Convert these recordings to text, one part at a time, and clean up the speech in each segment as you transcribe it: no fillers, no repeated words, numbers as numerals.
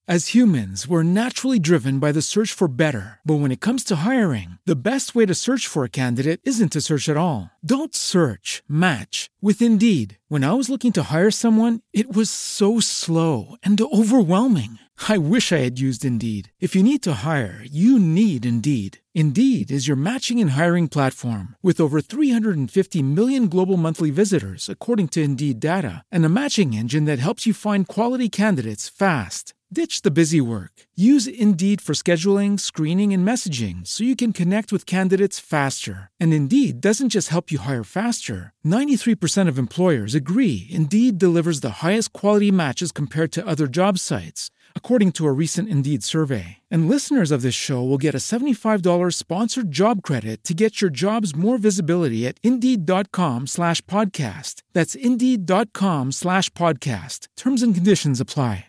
As humans, we're naturally driven by the search for better. But when it comes to hiring, the best way to search for a candidate isn't to search at all. Don't search, match with Indeed. When I was looking to hire someone, it was so slow and overwhelming. I wish I had used Indeed. If you need to hire, you need Indeed. Indeed is your matching and hiring platform with over 350 million global monthly visitors, according to Indeed data, and a matching engine that helps you find quality candidates fast. Ditch the busy work. Use Indeed for scheduling, screening, and messaging so you can connect with candidates faster. And Indeed doesn't just help you hire faster. 93% of employers agree Indeed delivers the highest quality matches compared to other job sites, according to a recent Indeed survey. And listeners of this show will get a $75 sponsored job credit to get your jobs more visibility at Indeed.com/podcast. That's Indeed.com/podcast. Terms and conditions apply.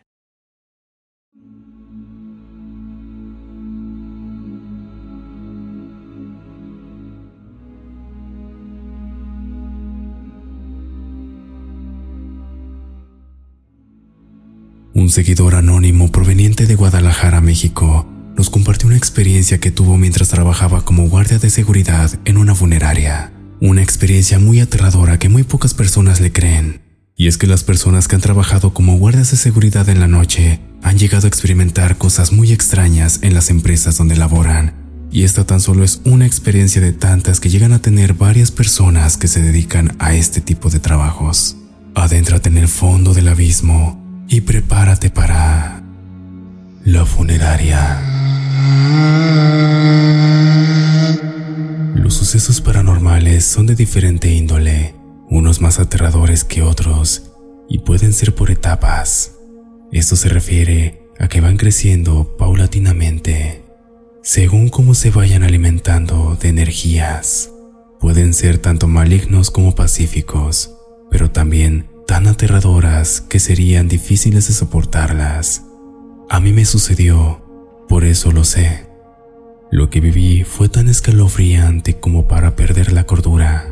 Un seguidor anónimo proveniente de Guadalajara, México, nos compartió una experiencia que tuvo mientras trabajaba como guardia de seguridad en una funeraria. Una experiencia muy aterradora que muy pocas personas le creen. Y es que las personas que han trabajado como guardias de seguridad en la noche han llegado a experimentar cosas muy extrañas en las empresas donde laboran. Y esta tan solo es una experiencia de tantas que llegan a tener varias personas que se dedican a este tipo de trabajos. Adéntrate en el fondo del abismo y prepárate para la funeraria. Los sucesos paranormales son de diferente índole, unos más aterradores que otros, y pueden ser por etapas. Esto se refiere a que van creciendo paulatinamente, según cómo se vayan alimentando de energías. Pueden ser tanto malignos como pacíficos, pero también tan aterradoras que serían difíciles de soportarlas. A mí me sucedió, por eso lo sé. Lo que viví fue tan escalofriante como para perder la cordura.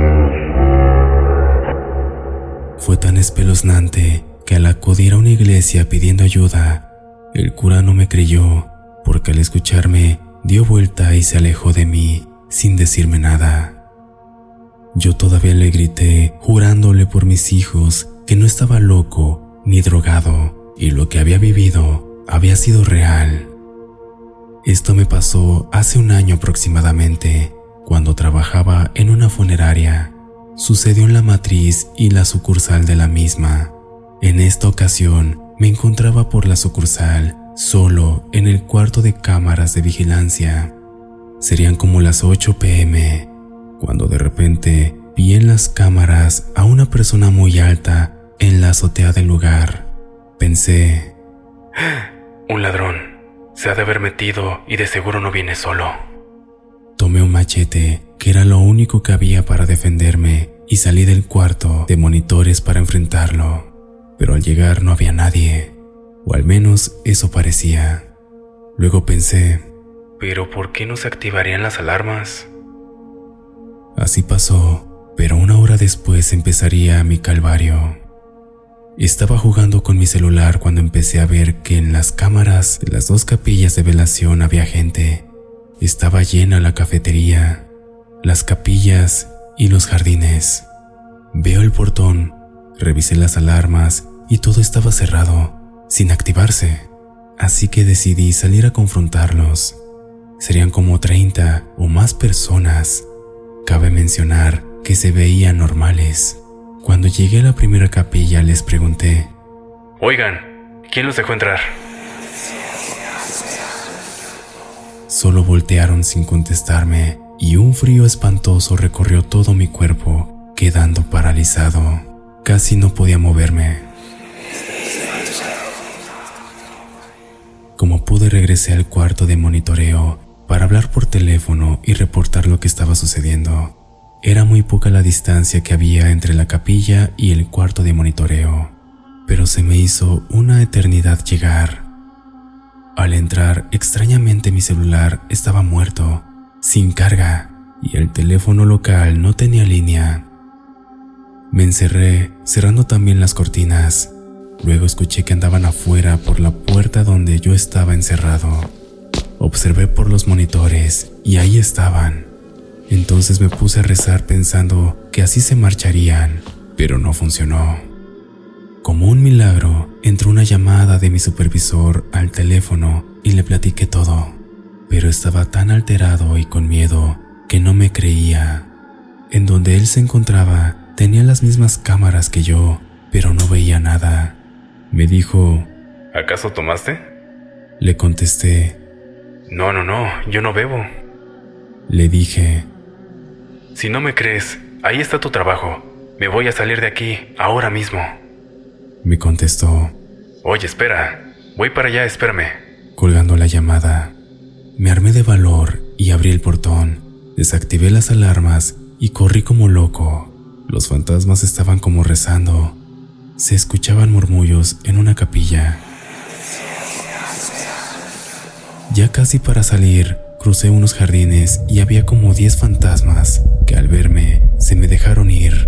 Fue tan espeluznante que al acudir a una iglesia pidiendo ayuda, el cura no me creyó, porque al escucharme dio vuelta y se alejó de mí sin decirme nada. Yo todavía le grité, jurándole por mis hijos que no estaba loco ni drogado y lo que había vivido había sido real. Esto me pasó hace un año aproximadamente, cuando trabajaba en una funeraria. Sucedió en la matriz y la sucursal de la misma. En esta ocasión me encontraba por la sucursal, solo en el cuarto de cámaras de vigilancia. Serían como las 8 p.m., cuando de repente vi en las cámaras a una persona muy alta en la azotea del lugar. Pensé, un ladrón, se ha de haber metido y de seguro no viene solo. Tomé un machete, que era lo único que había para defenderme, y salí del cuarto de monitores para enfrentarlo. Pero al llegar no había nadie, o al menos eso parecía. Luego pensé, ¿pero por qué no se activarían las alarmas? Así pasó, pero una hora después empezaría mi calvario. Estaba jugando con mi celular cuando empecé a ver que en las cámaras de las 2 capillas de velación había gente. Estaba llena la cafetería, las capillas y los jardines. Veo el portón, revisé las alarmas y todo estaba cerrado, sin activarse. Así que decidí salir a confrontarlos. Serían como 30 o más personas. Cabe mencionar que se veían normales. Cuando llegué a la primera capilla les pregunté, «Oigan, ¿quién los dejó entrar?». Solo voltearon sin contestarme y un frío espantoso recorrió todo mi cuerpo, quedando paralizado. Casi no podía moverme. Como pude, regresé al cuarto de monitoreo para hablar por teléfono y reportar lo que estaba sucediendo. Era muy poca la distancia que había entre la capilla y el cuarto de monitoreo, pero se me hizo una eternidad llegar. Al entrar, extrañamente mi celular estaba muerto, sin carga, y el teléfono local no tenía línea. Me encerré, cerrando también las cortinas. Luego escuché que andaban afuera por la puerta donde yo estaba encerrado. Observé por los monitores y ahí estaban. Entonces me puse a rezar pensando que así se marcharían, pero no funcionó. Como un milagro, entró una llamada de mi supervisor al teléfono y le platiqué todo, pero estaba tan alterado y con miedo que no me creía. En donde él se encontraba tenía las mismas cámaras que yo, pero no veía nada. Me dijo, ¿acaso tomaste? Le contesté, No, yo no bebo. Le dije, Si no me crees, ahí está tu trabajo. Me voy a salir de aquí, ahora mismo. Me contestó, Oye, espera, voy para allá, espérame. Colgando la llamada. Me armé de valor y abrí el portón, desactivé las alarmas y corrí como loco. Los fantasmas estaban como rezando. Se escuchaban murmullos en una capilla. Ya casi para salir, crucé unos jardines y había como 10 fantasmas que al verme se me dejaron ir.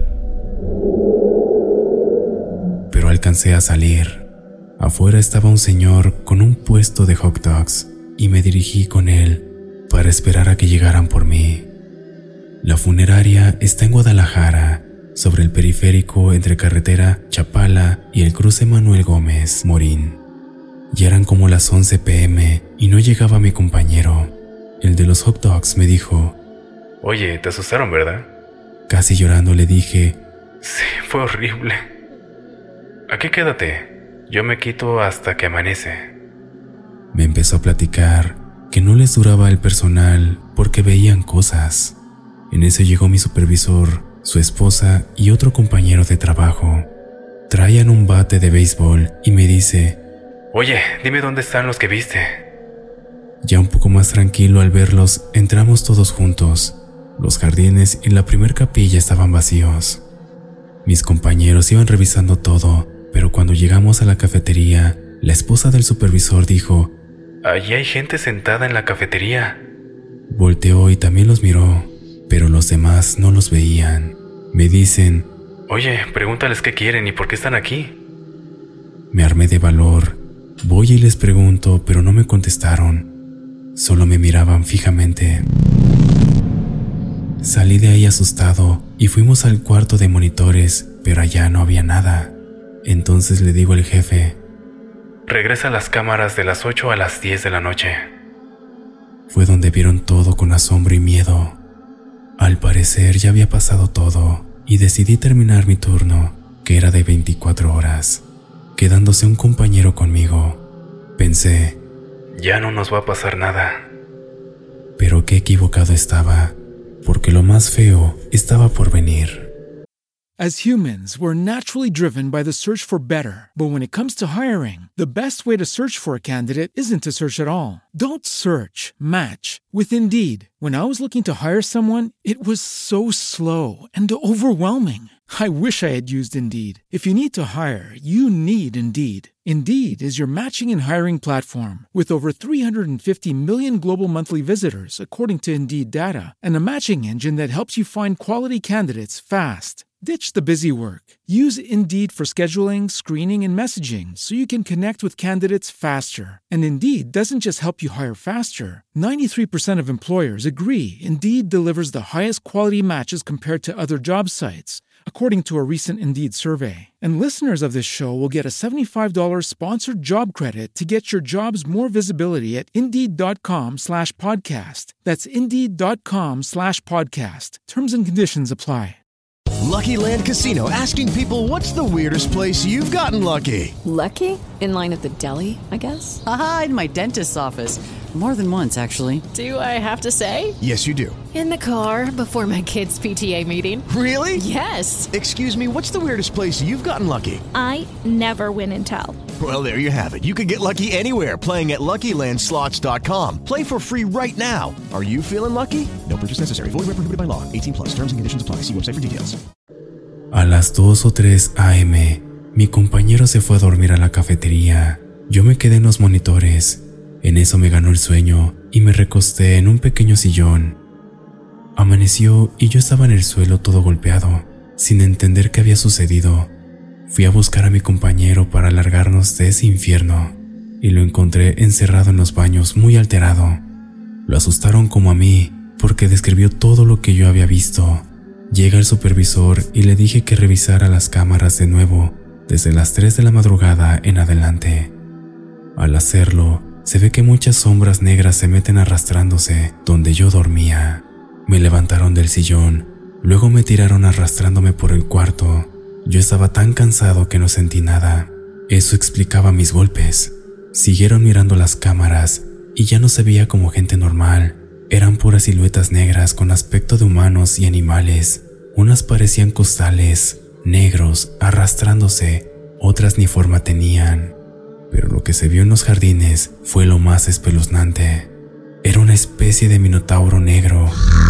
Pero alcancé a salir. Afuera estaba un señor con un puesto de hot dogs y me dirigí con él para esperar a que llegaran por mí. La funeraria está en Guadalajara, sobre el periférico entre carretera Chapala y el cruce Manuel Gómez Morín. Ya eran como las 11 p.m. y no llegaba mi compañero. El de los hot dogs me dijo, Oye, te asustaron, ¿verdad? Casi llorando le dije, Sí, fue horrible. Aquí quédate, yo me quito hasta que amanece. Me empezó a platicar que no les duraba el personal porque veían cosas. En eso llegó mi supervisor, su esposa y otro compañero de trabajo. Traían un bate de béisbol y me dice, Oye, dime dónde están los que viste. Ya un poco más tranquilo al verlos, entramos todos juntos. Los jardines y la primer capilla estaban vacíos. Mis compañeros iban revisando todo, pero cuando llegamos a la cafetería, la esposa del supervisor dijo, Allí hay gente sentada en la cafetería. Volteó y también los miró, pero los demás no los veían. Me dicen, Oye, pregúntales qué quieren y por qué están aquí. Me armé de valor. Voy y les pregunto, pero no me contestaron. Solo me miraban fijamente. Salí de ahí asustado y fuimos al cuarto de monitores, pero allá no había nada. Entonces le digo al jefe, Regresa a las cámaras de las 8 a las 10 de la noche. Fue donde vieron todo con asombro y miedo. Al parecer ya había pasado todo y decidí terminar mi turno, que era de 24 horas, quedándose un compañero conmigo. Pensé, Ya no nos va a pasar nada. pero qué equivocado estaba, porque lo más feo estaba por venir. As humans, we're naturally driven by the search for better. But when it comes to hiring, the best way to search for a candidate isn't to search at all. Don't search, match with Indeed. When I was looking to hire someone, it was so slow and overwhelming. I wish I had used Indeed. If you need to hire, you need Indeed. Indeed is your matching and hiring platform with over 350 million global monthly visitors, according to Indeed data, and a matching engine that helps you find quality candidates fast. Ditch the busy work. Use Indeed for scheduling, screening, and messaging so you can connect with candidates faster. And Indeed doesn't just help you hire faster. 93% of employers agree Indeed delivers the highest quality matches compared to other job sites, according to a recent Indeed survey. And listeners of this show will get a $75 sponsored job credit to get your jobs more visibility at Indeed.com/podcast. That's Indeed.com/podcast. Terms and conditions apply. Lucky Land Casino, asking people, what's the weirdest place you've gotten lucky? Lucky? In line at the deli, I guess? Aha, in my dentist's office. More than once, actually. Do I have to say? Yes, you do. In the car before my kids' PTA meeting. Really? Yes. Excuse me, what's the weirdest place you've gotten lucky? I never win and tell. Well, there you have it. You can get lucky anywhere, playing at LuckyLandSlots.com. Play for free right now. Are you feeling lucky? No purchase necessary. Void where prohibited by law. 18+. Terms and conditions apply. See website for details. A las 2 o 3 a.m., mi compañero se fue a dormir a la cafetería. Yo me quedé en los monitores. En eso me ganó el sueño y me recosté en un pequeño sillón. Amaneció y yo estaba en el suelo todo golpeado, sin entender qué había sucedido. Fui a buscar a mi compañero para largarnos de ese infierno y lo encontré encerrado en los baños muy alterado. Lo asustaron como a mí porque describió todo lo que yo había visto. Llega el supervisor y le dije que revisara las cámaras de nuevo desde las 3 de la madrugada en adelante. Al hacerlo, se ve que muchas sombras negras se meten arrastrándose donde yo dormía. Me levantaron del sillón, luego me tiraron arrastrándome por el cuarto. Yo estaba tan cansado que no sentí nada. Eso explicaba mis golpes. Siguieron mirando las cámaras y ya no se veía como gente normal. Eran puras siluetas negras con aspecto de humanos y animales. Unas parecían costales, negros, arrastrándose, otras ni forma tenían. Pero lo que se vio en los jardines fue lo más espeluznante. Era una especie de minotauro negro,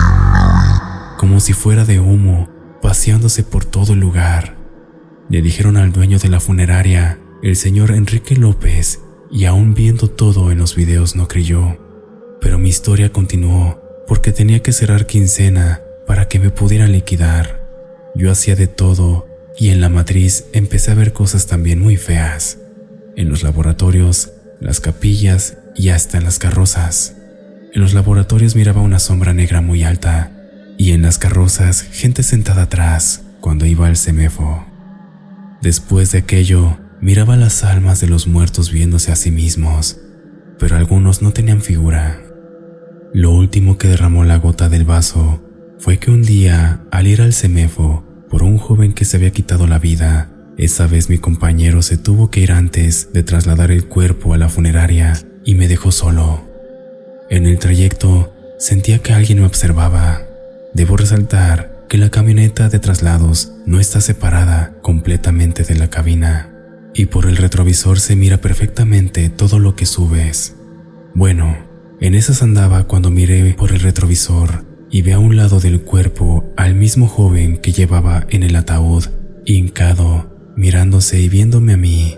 como si fuera de humo, paseándose por todo el lugar. Le dijeron al dueño de la funeraria, el señor Enrique López, y aún viendo todo en los videos no creyó. Pero mi historia continuó porque tenía que cerrar quincena para que me pudieran liquidar. Yo hacía de todo y en la matriz empecé a ver cosas también muy feas. En los laboratorios, las capillas y hasta en las carrozas. En los laboratorios miraba una sombra negra muy alta y en las carrozas gente sentada atrás cuando iba al CEMEFO. Después de aquello, miraba las almas de los muertos viéndose a sí mismos, pero algunos no tenían figura. Lo último que derramó la gota del vaso fue que un día, al ir al CEMEFO por un joven que se había quitado la vida, esa vez mi compañero se tuvo que ir antes de trasladar el cuerpo a la funeraria y me dejó solo. En el trayecto sentía que alguien me observaba. Debo resaltar que la camioneta de traslados no está separada completamente de la cabina y por el retrovisor se mira perfectamente todo lo que subes. Bueno, en esas andaba cuando miré por el retrovisor y vi a un lado del cuerpo al mismo joven que llevaba en el ataúd, hincado, mirándose y viéndome a mí.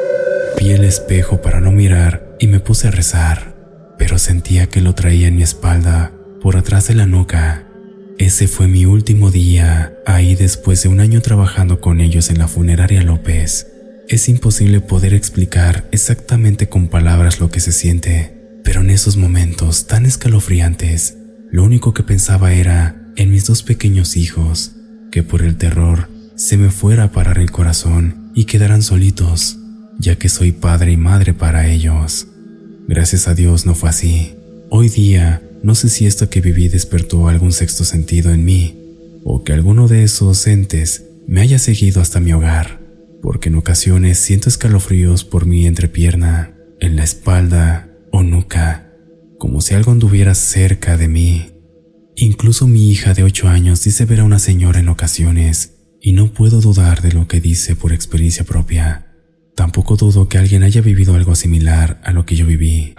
Vi el espejo para no mirar y me puse a rezar, pero sentía que lo traía en mi espalda, por atrás de la nuca. Ese fue mi último día ahí después de un año trabajando con ellos en la funeraria López. Es imposible poder explicar exactamente con palabras lo que se siente, pero en esos momentos tan escalofriantes, lo único que pensaba era en mis 2 pequeños hijos, que por el terror se me fuera a parar el corazón y quedaran solitos, ya que soy padre y madre para ellos. Gracias a Dios no fue así. Hoy día, no sé si esto que viví despertó algún sexto sentido en mí, o que alguno de esos entes me haya seguido hasta mi hogar, porque en ocasiones siento escalofríos por mi entrepierna, en la espalda o nuca, como si algo anduviera cerca de mí. Incluso mi hija de 8 años dice ver a una señora en ocasiones, y no puedo dudar de lo que dice por experiencia propia. Tampoco dudo que alguien haya vivido algo similar a lo que yo viví.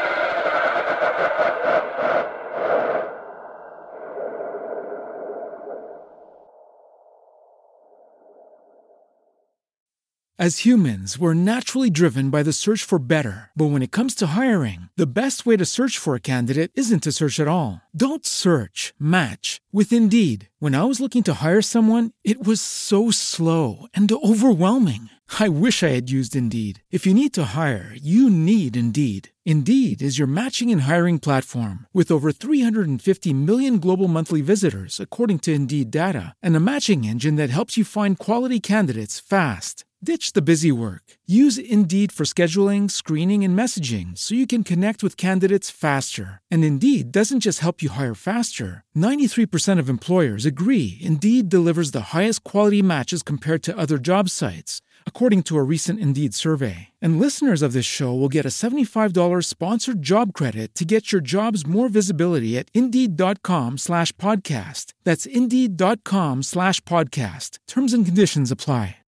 As humans, we're naturally driven by the search for better. But when it comes to hiring, the best way to search for a candidate isn't to search at all. Don't search, match with Indeed. When I was looking to hire someone, it was so slow and overwhelming. I wish I had used Indeed. If you need to hire, you need Indeed. Indeed is your matching and hiring platform with over 350 million global monthly visitors, according to Indeed data, and a matching engine that helps you find quality candidates fast. Ditch the busy work. Use Indeed for scheduling, screening, and messaging so you can connect with candidates faster. And Indeed doesn't just help you hire faster. 93% of employers agree Indeed delivers the highest quality matches compared to other job sites, according to a recent Indeed survey. And listeners of this show will get a $75 sponsored job credit to get your jobs more visibility at Indeed.com/podcast. That's Indeed.com/podcast. Terms and conditions apply.